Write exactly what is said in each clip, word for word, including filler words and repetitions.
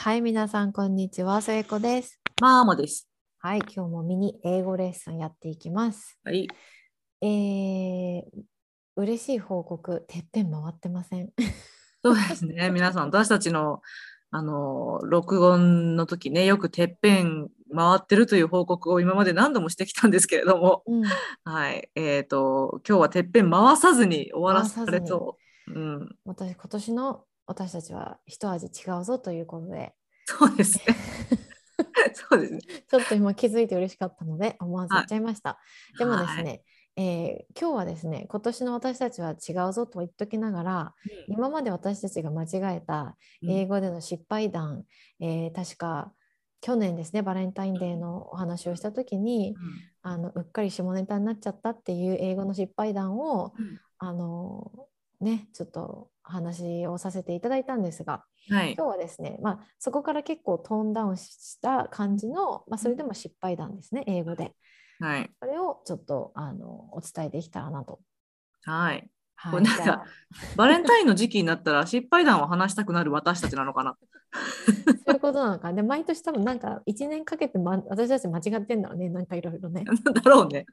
はい、皆さん、こんにちは。聖子です。 マーモです。 はい、今日もミニ英語レッスンやっていきます。 はい。 えー、嬉しい報告、てっぺん回ってません。 そうですね。皆さん、私たちの、あの、録音の時ね、よくてっぺん回ってるという報告を今まで何度もしてきたんですけれども、 うん、 はい。えっと、今日はてっぺん回さずに終わら回せさずに、 られそう。うん。 私、今年の私たちは一味違うぞということで、 そうですね。そうですね。 ちょっと今気づいて嬉しかったので、思わず言っはい。 ちゃいました。でもですはい。 ね、えー今日はですね、今年の私たちは違うぞと言っときながら、今まで私たちが間違えたうん。 英語での失敗談、えー確か去年ですね、バレンタインデーのお話をしたときに、 うん。 あのうっかり下ネタになっちゃったっていう英語の失敗談を、 うん。 あのね、ちょっと話をさせていただいたんですが、 はい。 今日はですね、まあ、そこから結構トーンダウンした感じの、まあ、 うん。 それでも失敗談ですね、英語で。 はい。 それをちょっとあのお伝えできたらなと。 はい。こはい、 れなんか、 じゃあ、 バレンタインの時期になったら失敗談を話したくなる私たちなのかな。 そういうことなのか。で、毎年多分なんかいちねんかけて、ま、私たち間違ってんだろうね、なんかいろいろね。 だろうね。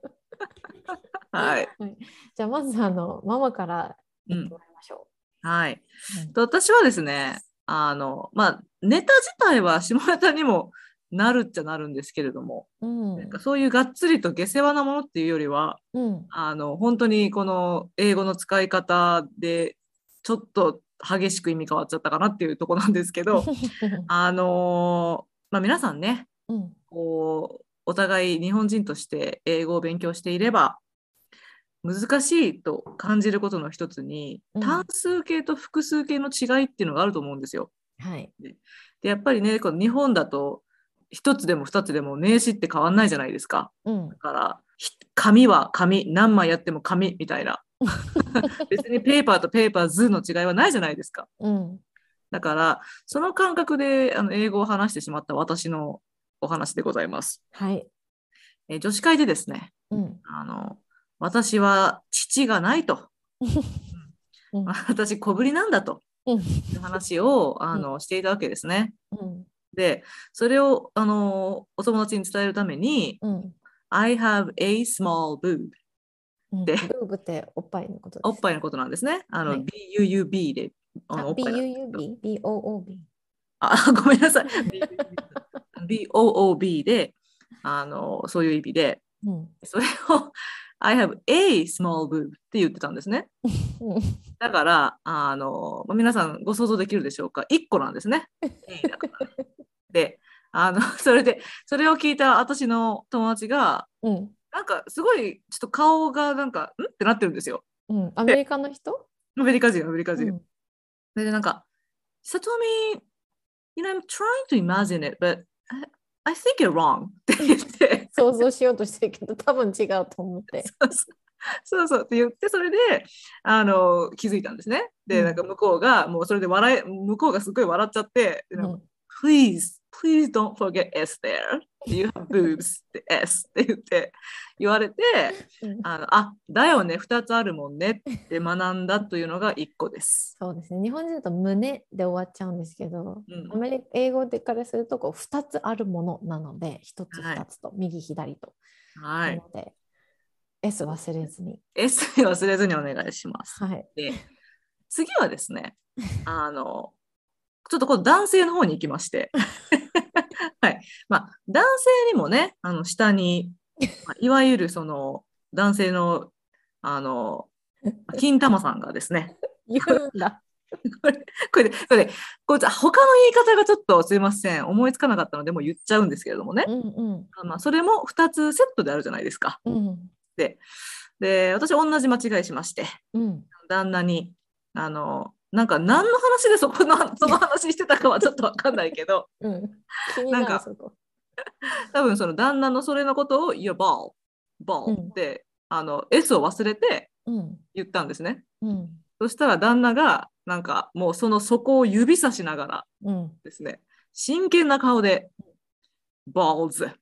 はい。 はい、じゃあ、まずあのママからうん。 言ってもらいましょはい。 う。うん、 と私はですね、あの、まあ、ネタ自体は下ネタにもなるっちゃなるんですけれども、 うなんかん、 そういうがっつりと下世話なものっていうよりは、 うん、 あの、本当にこの英語の使い方で、ちょっと激しく意味変わっちゃったかなっていうところなんですけど、あの、まあ、皆さんね、 うん、 こう、お互い日本人として英語を勉強していれば、難しいと感じることの一つに単うん、 数形と複数形の違いっていうのがあると思うんですよ。 はい、 で、でやっぱりね、この日本だと一つでも二つでも名詞って変わんないじゃないですか。 うん、 だから紙は紙、何枚やっても紙みたいな。別にペーパーとペーパーズの違いはないじゃないですか。 うん、 だからその感覚であの英語を話してしまった私のお話でございます。 はい、 え女子会でですね、 うん、 あの私は父がないと。 うん、 私小ぶりなんだとうん、 いう話をあうん、 のしていたわけですね。 うん、 で、それをあのお友達に伝えるために、 うん、 I have a small boob うん、 で、 ブーブっておっぱいのことですね。 おっぱいのことなんですね。あのはい。 ビーユーユービー でああ、 のおっぱいなんですけど。 ビーユーユービー？ ビーオーオービー？ あ、ごめんなさい。ビーオーオービー で、あのそういう意味で、 うん。 それを I have a small boob って言ってたんですね。だから、あの、皆さんご想像できるでしょうか。いっこなんですね。A だからね。で、あの、それで、それを聞いた私の友達が、 うん。 なんかすごい、ちょっと顔がなんか、んってなってるんですよ。 うん。アメで、 リカの人？ アメリカ人、アメリカ人。 うん。 それでなんか、さとみ、you know, I'm trying to imagine it, but I, I think you're wrong って言って、 想像しようとしてるけど、多分違うと思って。 そうそうそうそうって言って、それで、あの、気づいたんですね。で、なんうん。 か向こうが、もうそれで笑い、向こうがすごい笑っちゃって、でなんかうん。 please, please don't forget S there. You have boobs って S って言って言われて、 うん。 あの、あ、だよね、ふたつあるもんねって学んだというのがいっこです。 そうですね。日本人だと胸で終わっちゃうんですけど、 うん。 アメリカ英語でからするとこうふたつあるものなので、ひとつはい。 ふたつと、右左と。 はい。 なので、S 忘れずに。 S 忘れずにお願いします。 はい。 で、次はですね、あの、ちょっとこの男性の方に行きまして、はい。まあ、男性にもね、あの、下に、まあいわゆるその、男性の、あの、金玉さんがですね、 言うんだ。 これ、これで、これで、こいつ他の言い方がちょっとすいません、思いつかなかったので、もう言っちゃうんですけれどもね。 うんうん。 まあ、それもふたつセットであるじゃないですか。 うん。 で、で、私同じ間違いしまして、 うん。 旦那に、あの、なんか何の話でそこの、その話してたかはちょっとわかんないけど、 うん。気になんか、 なるそこ。 多分その旦那のそれのことを、Your ball, う ball っん。 て、あの、S を忘れてうん。 言ったんですね。 うん。 そしたら旦那が、なんかもうその底を指さしながらうん。 ですね、真剣な顔で、balls,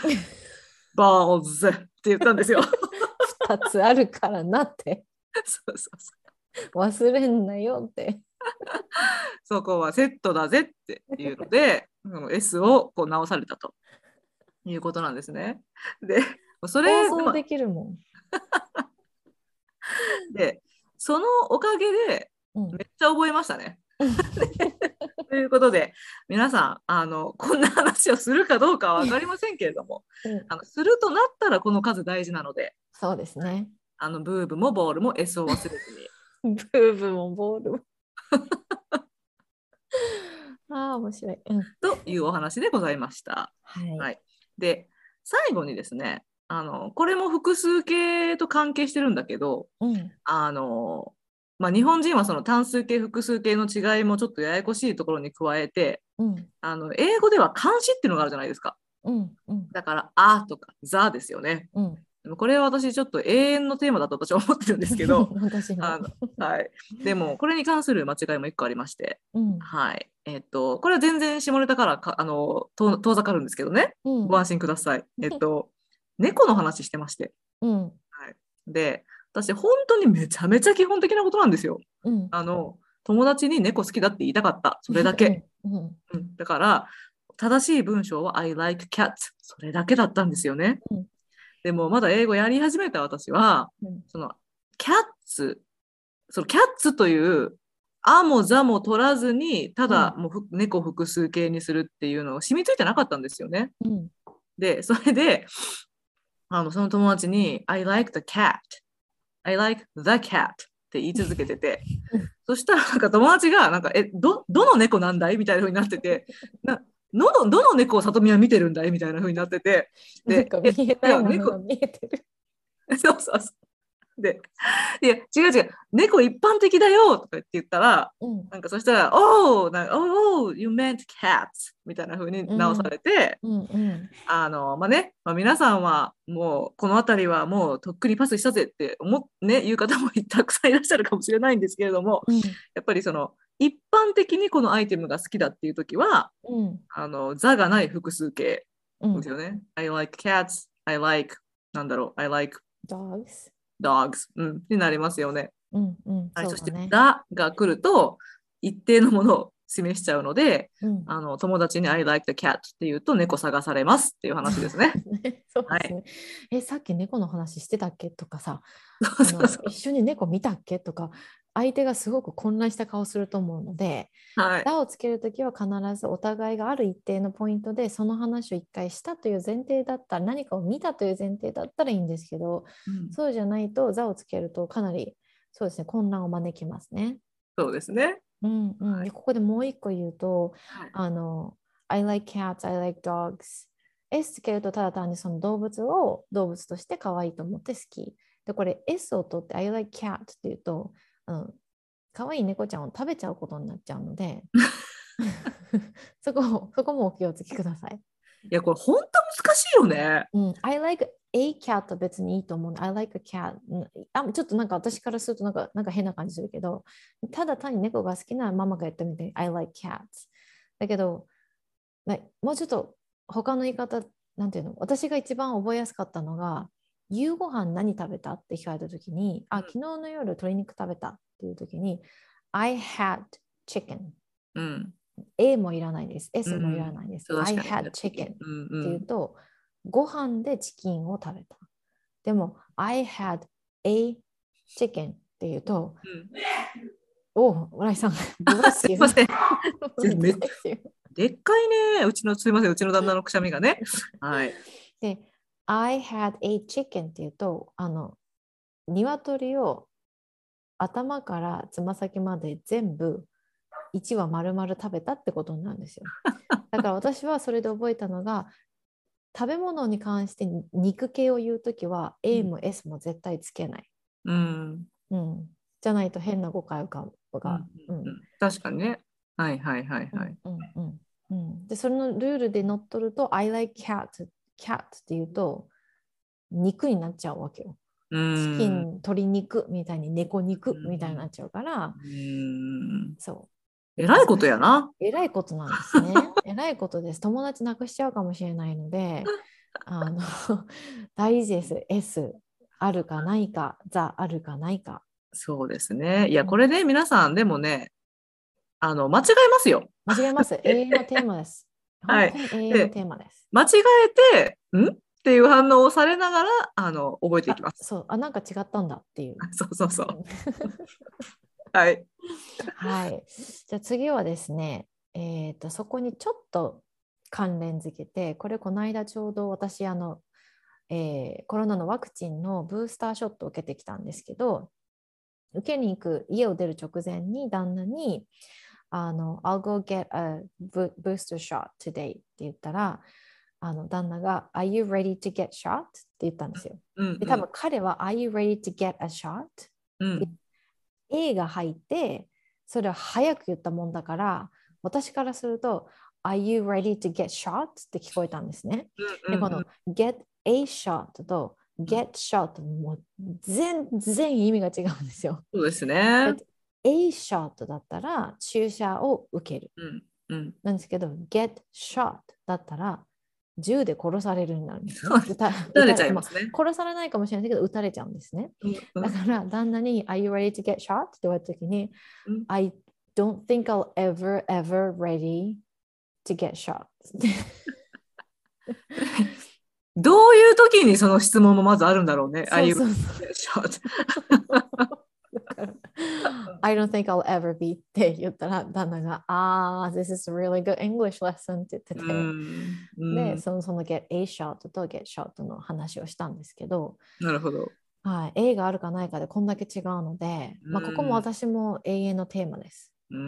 balls って言ったんですよ。 ふたつあるからなって。 そうそうそ忘れんなよって。 そこはセットだぜっていうので、S をこう直されたということなんですね。で、それ、 放送できるもん。 で、そのおかげでうん、 めっちゃ覚えましたね。ということで、皆さん、あの、こんな話をするかどうかは分かりませんけれども、 うん、 あのするとなったらこの数大事なので、 そうですね。 あのブーブもボールも S を忘れずに。 ブーブもボールも。ああ、面白い。うん。 というお話でございました。 はい。 はい、で、最後にですね、あの、これも複数形と関係してるんだけど、 うん。 あの、まあ、日本人はその単数形、複数形の違いもちょっとややこしいところに加えて、 うん。 あの英語では冠詞っていうのがあるじゃないですか。 うん。うん。 だから、あとか、ザですよね。 うん。 でもこれは私ちょっと永遠のテーマだと私は思ってるんですけど、 私も。 あの、はい。でも、これに関する間違いも一個ありまして、 うん。 はい。えっと、これは全然下ネタからか、あの、遠遠ざかるんですけどね。 うん。 ご安心ください。えっと、猫の話してまして。 うん。 はい。で、私、本当にめちゃめちゃ基本的なことなんですよ。 うん。 あの、友達に猫好きだって言いたかった。それだけ。 うん。 うん、だから、正しい文章は I like cats。それだけだったんですよね。 うん。 でも、まだ英語やり始めた私は、 うん。 その、cats、その cats という、あもざも取らずに、ただもう猫複数形にするっていうのが染みついてなかったんですよね。 うん。 で、それで、あのその友達に、I like the cat。I like the cat って言い続けてて、そしたらなんか友達がなんかえどどの猫なんだいみたいな風になってて、などのどの猫を里見は見てるんだいみたいな風になってて、 なんか見えないものが見えてる。 そうそうそう。で、いや違う違う、猫一般的だよとか言って言ったら、 うん。 なんかそしたら、Oh, なんか oh, you meant cats みたいな風に直されて、 うん。うん。 あのまあね、まあ、皆さんはもうこの辺りはもうとっくにパスしたぜって思っ、ね、言う方もたくさんいらっしゃるかもしれないんですけれども、 うん。 やっぱりその一般的にこのアイテムが好きだっていう時は、 うん。 あの座がない複数形うん。 ですよね。I like cats, I like なんだろう、I like dogs。 dogs、うん、になりますよね。 うん。うん。 はい、そしてそうだね。 だが来ると一定のものを示しちゃうので、 うん。 あの友達に I like the cat って言うと猫探されますっていう話ですね。 そうはですね。 い。 え、さっき猫の話してたっけとかさ、 そうあのそうそう。 一緒に猫見たっけとか、相手がすごく混乱した顔すると思うので、 はい。 「だ」をつけるときは必ずお互いがある一定のポイントでその話を一回したという前提だったら、何かを見たという前提だったらいいんですけど、 うん、 そうじゃないと「座」をつけるとかなりそうですね、混乱を招きますね。 そうですね。 うんうん、 はい。 でここでもう一個言うと、 はい。 あの、I like cats, I like dogs。S つけるとただ単にその動物を動物として可愛いと思って好き。で、これ S を取って I like cat って言うと、あの、可愛い猫ちゃんを食べちゃうことになっちゃうので、そこ、そこもお気をつけください。 いや、これ本当難しいよね。 うん、I like a cat は別にいいと思う。I like a cat。あ、ちょっとなんか私からするとなんかなんか変な感じするけど、ただ単に猫が好きなママが言ったみたいに I like cats。だけど、もうちょっと他の言い方、なんていうの、私が一番覚えやすかったのが、夕ご飯何食べたって聞かれたときに、あ、昨日の夜鶏肉食べたっていうときに、I had chicken。 うん。 A もいらないです。 う S もいらん。 ないです。 確 I かに。 had chicken っうんうていうと、ご飯でチキンを食べた。でも、I had a chicken っていうと、 ん。うん、 おお、村井さん、ブレスユー。 すいません。 ブめレスユー。 でっかいね。うちの、すいません。うちの旦那のくしゃみがね。はい。 で、I had a chicken っていうと、あの、鶏を頭からつま先まで全部いち羽丸々食べたってことなんですよ。だから私はそれで覚えたのが、食べ物に関して肉系を言うときは A も S も絶対つけない。 うん。 うん。じゃないと変な誤解が。 うんがうん、 うん、確かにね。はいはいはいはい。 うんうんうん、で、それのルールで乗っ取ると I like cat, cat って言うと肉になっちゃうわけよ。 うチキン、 ん。 鶏肉みたいに猫肉みたいになっちゃうから、 うん。 そうえらいこと難しい。 やな。 えらいことなんですね。えらいことです。友達なくしちゃうかもしれないので、あの大事です。S あるかないか、ザあるかないか。 そうですね。いや、 うん、 これね、皆さん、でもね、 あの間違えますよ。 間違えます。永遠のテーマです。 はい。 本当に永遠のテーマです。 間違えて、んっていう反応をされながら、あの、覚えていきあ、 ます。 そう、あ、なんか違ったんだっていう。 そうそうそう。 うん、 はい。 はい。じゃあ次はですね、えっと、そこにちょっと関連づけて、これこの間ちょうど私、あの、えーコロナのワクチンのブースターショットを受けてきたんですけど、受けに行く家を出る直前に旦那に、あの、I'll go get a booster shot today って言ったら、あの旦那が Are you ready to get shot? って言ったんですよ。で、多うんうん分彼は Are you ready to get a shot? うん。 A が入って、それは早く言ったもんだから、私からすると、Are you ready to get shot? って聞こえたんですね。で、このうんうん get a shot とうん。 get shot もう全然意味が違うんですよ。 そうですね。 get a shot だったら注射を受ける。 うんうんなんですけど、get shot だったら銃で殺されるようになるんですね。 そうです。 撃た、 打たれち撃たれ、まあ、 ゃいますね。 殺されないかもしれないけど、撃たれちゃうんですね。 うんうんだから旦那に Are you ready to get shot? って言われたときにうん。 I don't think I'll ever, ever ready to get shot. どういう時にその質問もまずあるんだろうね。ああいう。 そうそうそう。だから I don't think I'll ever be って言ったら旦那がああ、this is a really good English lesson って言ってうて、 んうで、 ん。 そのその get a shot と get shot の話をしたんですけど、 なるほど。 はい、A があるかないかでこんだけ違うので、 うまあ、ここもん私も永遠のテーマです。 うん。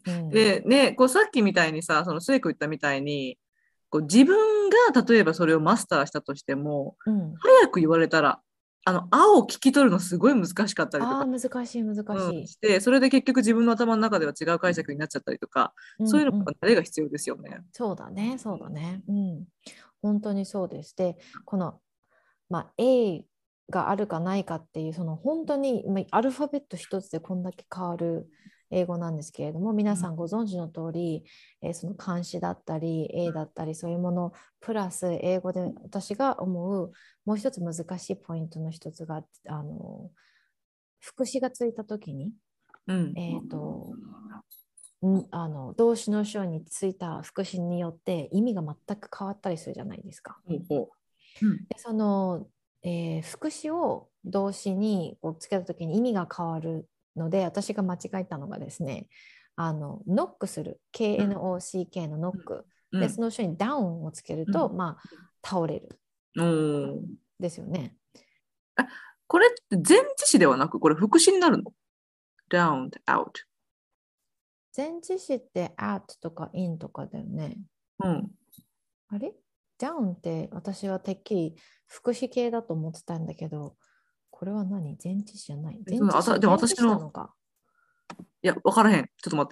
うん、 でね、こうさっきみたいにさ、その末子言ったみたいに、こう自分が例えばそれをマスターしたとしても、 うん、 早く言われたら、あの、青を聞き取るのすごい難しかったりとか、 ああ、難しい、難しうん、 い。 して、それで結局自分の頭の中では違う解釈になっちゃったりとか、 うん、 そういうのうん、 が慣れが必要ですよね。 そうだね、そうだね。うん、本当にそうです。で、この、まあ、A があるかないかっていう、その本当に、まあ、アルファベット一つでこんだけ変わる英語なんですけれども、皆さんご存知の通り、えーその漢詩だったり、A だったり、そういうもの、プラス英語で私が思う、もう一つ難しいポイントの一つが、あの、副詞がついたときに、 うん。 えっと、んあの動詞の後ろについた副詞によって意味が全く変わったりするじゃないですか。 ほうほう。うん。 でその、えー副詞を動詞にこうつけた時に意味が変わるので、私が間違えたのがですね、あのノックするうん。 ケーエヌオーシーケー のノックうん。 で、その後ろにダウンをつけると、 うん。 まあ、倒れるおー。 ですよね。 あ、これって前置詞ではなく、これ副詞になるの？ down, out。 前置詞って at とか in とかだよね。 うん。 あれダウンって私はてっきり副詞系だと思ってたんだけど、これは何？前置詞じゃない。 えそ前置詞、 のあたでも前置私の、 詞なのか。 いや、わからへん。ちょっと待って。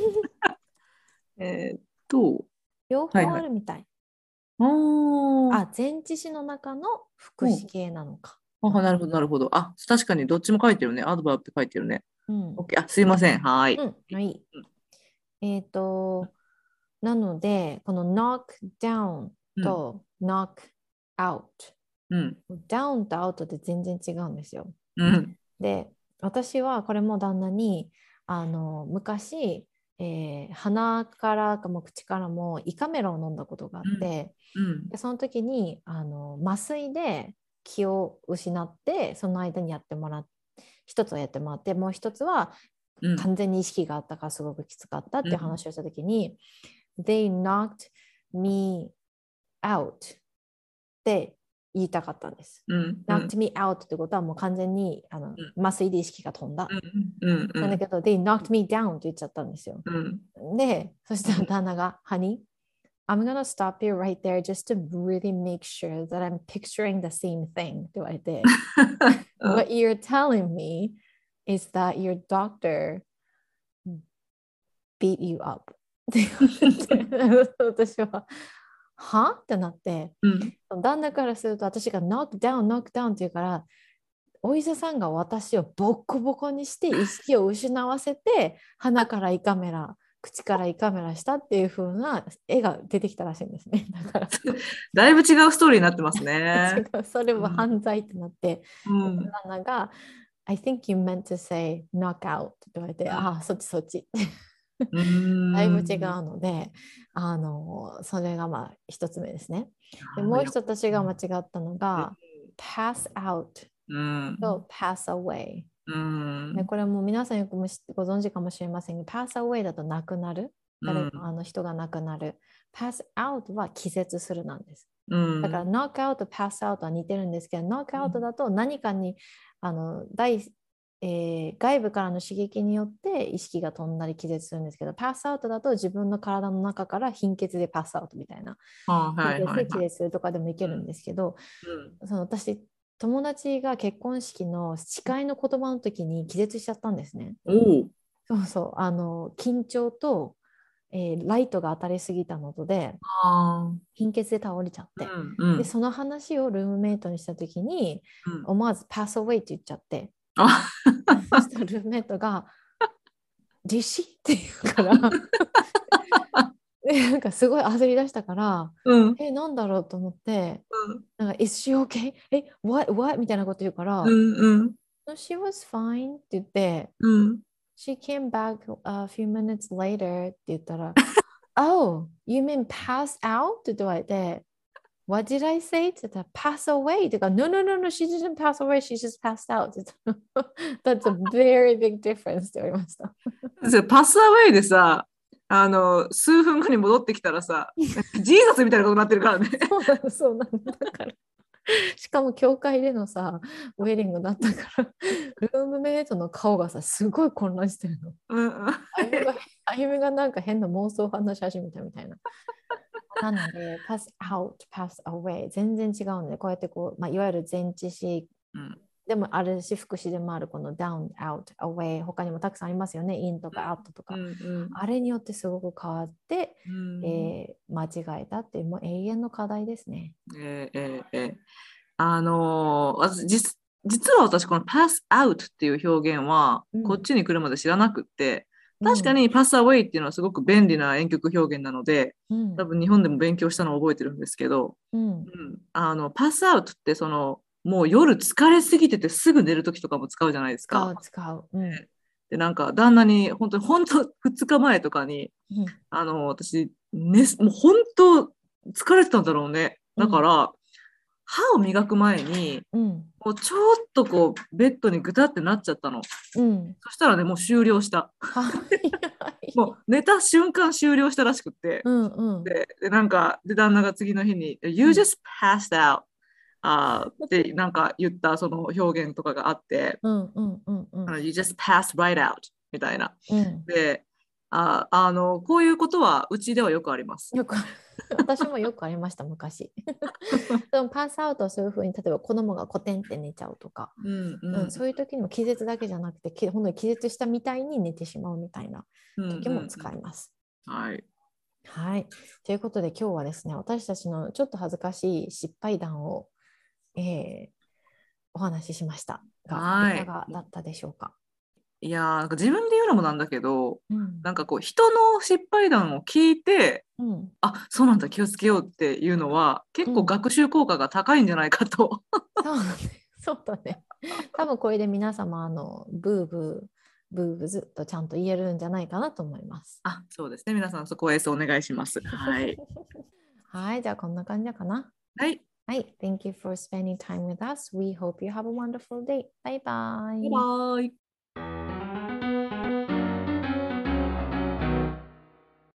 えーっと、 両方はいはい。 あるみたい。 おー。 あ、前置詞の中の副詞うん。 系なのか。 あ、なるほど、なるほど。あ、確かにどっちも書いてるね。アドバーブって書いてるね。 うん。 オッケー。あ、すいません。はーい。 うん、はい。えっと、なので、この knock down うん。 と knock out。 うん。 down と out って全然違うんですよ。 うん。 で、私はこれも旦那に、あの、昔、えー鼻からかも口からも胃カメラを飲んだことがあっうん。 て、 うん。 でその時にあの麻酔で気を失って、その間にやってもらっ一つはやってもらって、もう一つはうん。 完全に意識があったからすごくきつかったっていううん。 話をした時に、They knocked me out って言いたかったんです。 うん。うん。 knocked me out ってことはもう完全にあの麻酔で意識が飛んだ。 うん。うん。 なんだけど、they knocked me down って言っちゃったんですよ。 うん。 で、そしたら旦那が、Honey, I'm gonna stop you right there just to really make sure that I'm picturing the same thing って言われて、What you're telling me is that your doctor beat you up って言われて、私は、はってなって、 うん。 旦那からすると私が knock down, knock down って言うから、お医者さんが私をボッコボコにして意識を失わせて、鼻から胃カメラ、口から胃カメラしたっていう風な絵が出てきたらしいんですね。だからだいぶ違うストーリーになってますね。 違う、それは犯罪ってなって、 うん。 旦那が I think you meant to say knock out って言われて、ああ、そっちそっち。 うーだいぶ違うん。 ので、あのそれがまあ一つ目ですね。で、 なるほど。いや、 もう一つ私が間違ったのうん。 が pass out うん。 と pass away。 うで、 ん。 これも皆さんよくもしご存知かもしれませんが、pass away だと亡くなる。誰か、 うん。 あの人が亡くなる。pass out は気絶するなんです。 うだから、 ん。 ノックアウト、パスアウトは似てるんですけど、ノックアウトだと何かに、あの、大、えー外部からの刺激によって意識が飛んだり気絶するんですけど、パスアウトだと自分の体の中から貧血でパスアウトみたいな、 あ、は貧いはいはい。 血で気絶するとかでもいけるんですけど、 うん。 その私、友達が結婚式の誓いの言葉の時に気絶しちゃったんですね。 うん。おお。 そうそう、あの、緊張と、えーライトが当たりすぎたのとで、 ああ。 貧血で倒れちゃっうて、 ん。うで、 ん。 その話をルームメイトにした時に、 うん。 思わず pass away って言っちゃって、 あ、 そしたらルームメイトが、ディシって言うから、でなんかすごい焦り出したから、 うん。 え、なんだろうと思って、 うん。 なんか、Is she okay? え、what, what? みたいなこと言うかうら、 ん。うん。 No, she was fine って言って、 うん。 She came back a few minutes later って言ったら、Oh, you mean pass out? って言われて、What did I say? って言ったら、pass away って言うから、No, no, no, no, she didn't pass away, she just passed out って言ったら That's a very big difference って言われました。 それパスアウェイでさ、あの、数分後に戻ってきたらさ、ジーザスみたいなことになってるからね。 そうなの、そうなの。だから、しかも教会でのさ、ウェディングだったから、ルームメイトの顔がさ、すごい混乱してるの。 うん。うん。 あゆみが、あゆみがなんか変な妄想を話し始めたみたいな。なので、pass out, pass away 全然違うので、こうやってこう、まあ、いわゆる前置詞うん。 でもあるし、副詞でもあるこの down, out, away、他にもたくさんありますよね。in とか out とか。 うん。うん。 あれによってすごく変わって、 うん。 えー間違えたっていう、もう永遠の課題ですね。 えーえーえーあのー私実、実は私、この pass out っていう表現は、 うん。 こっちに来るまで知らなくって、確かうん。 に pass away っていうのはすごく便利な婉曲表現なので、 うん。 多分日本でも勉強したのを覚えてるんですけど、 うん。 うん、あの、pass out ってその、もう夜疲れすぎててすぐ寝るときとかも使うじゃないですか。 使う、使う。うん。 で、なんか、旦那に、本当に、本当ふつかまえとかに、 うん。 あの、私、ね、もう本当疲れてたんだろうね。 うん。 だから、歯を磨く前に、 うん。 もうちょっとこう、ベッドにぐたってなっちゃったの。 うん。 そしたらね、もう終了した。 はい。 もう寝た瞬間終了したらしくって。 うん。うん。 で、でなんか、で、旦那が次の日に、 う You ん。 just passed out. あーってなんか言ったその表現とかがあって、 うん。うん。うん。うん。 あの You just passed right out みたいな。 うん。 で、あ、あの、こういうことはうちではよくあります。 よくある。私もよくありました、昔。でもパスアウトはそういうふうに、例えば子供がコテンって寝ちゃうとか、 うんううん、 んそういう時にも気絶だけじゃなくて、き本当に気絶したみたいに寝てしまうみたいなうんう時もんうん。 使います。 はい。 はい。ということで今日はですね、私たちのちょっと恥ずかしい失敗談を、えーお話ししましたが、いはい。 かがだったでしょうか。 いやー、なんか自分で言うのもなんだけど、 うん。 なんかこう、人の失敗談を聞いて、 うん。 あ、そうなんだ、気をつけようっていうのは、結構うん。 学習効果が高いんじゃないかと。 そうだね。そうだね。多分これで皆様、あの、ブーブー、ブーブーずっとちゃんと言えるんじゃないかなと思います。 あ、そうですね。皆さん、そこはエースお願いします。はい。 はい、じゃあこんな感じかな。 はい。 はい、Thank you for spending time with us. We hope you have a wonderful day. Bye バイバ bye. ーイ。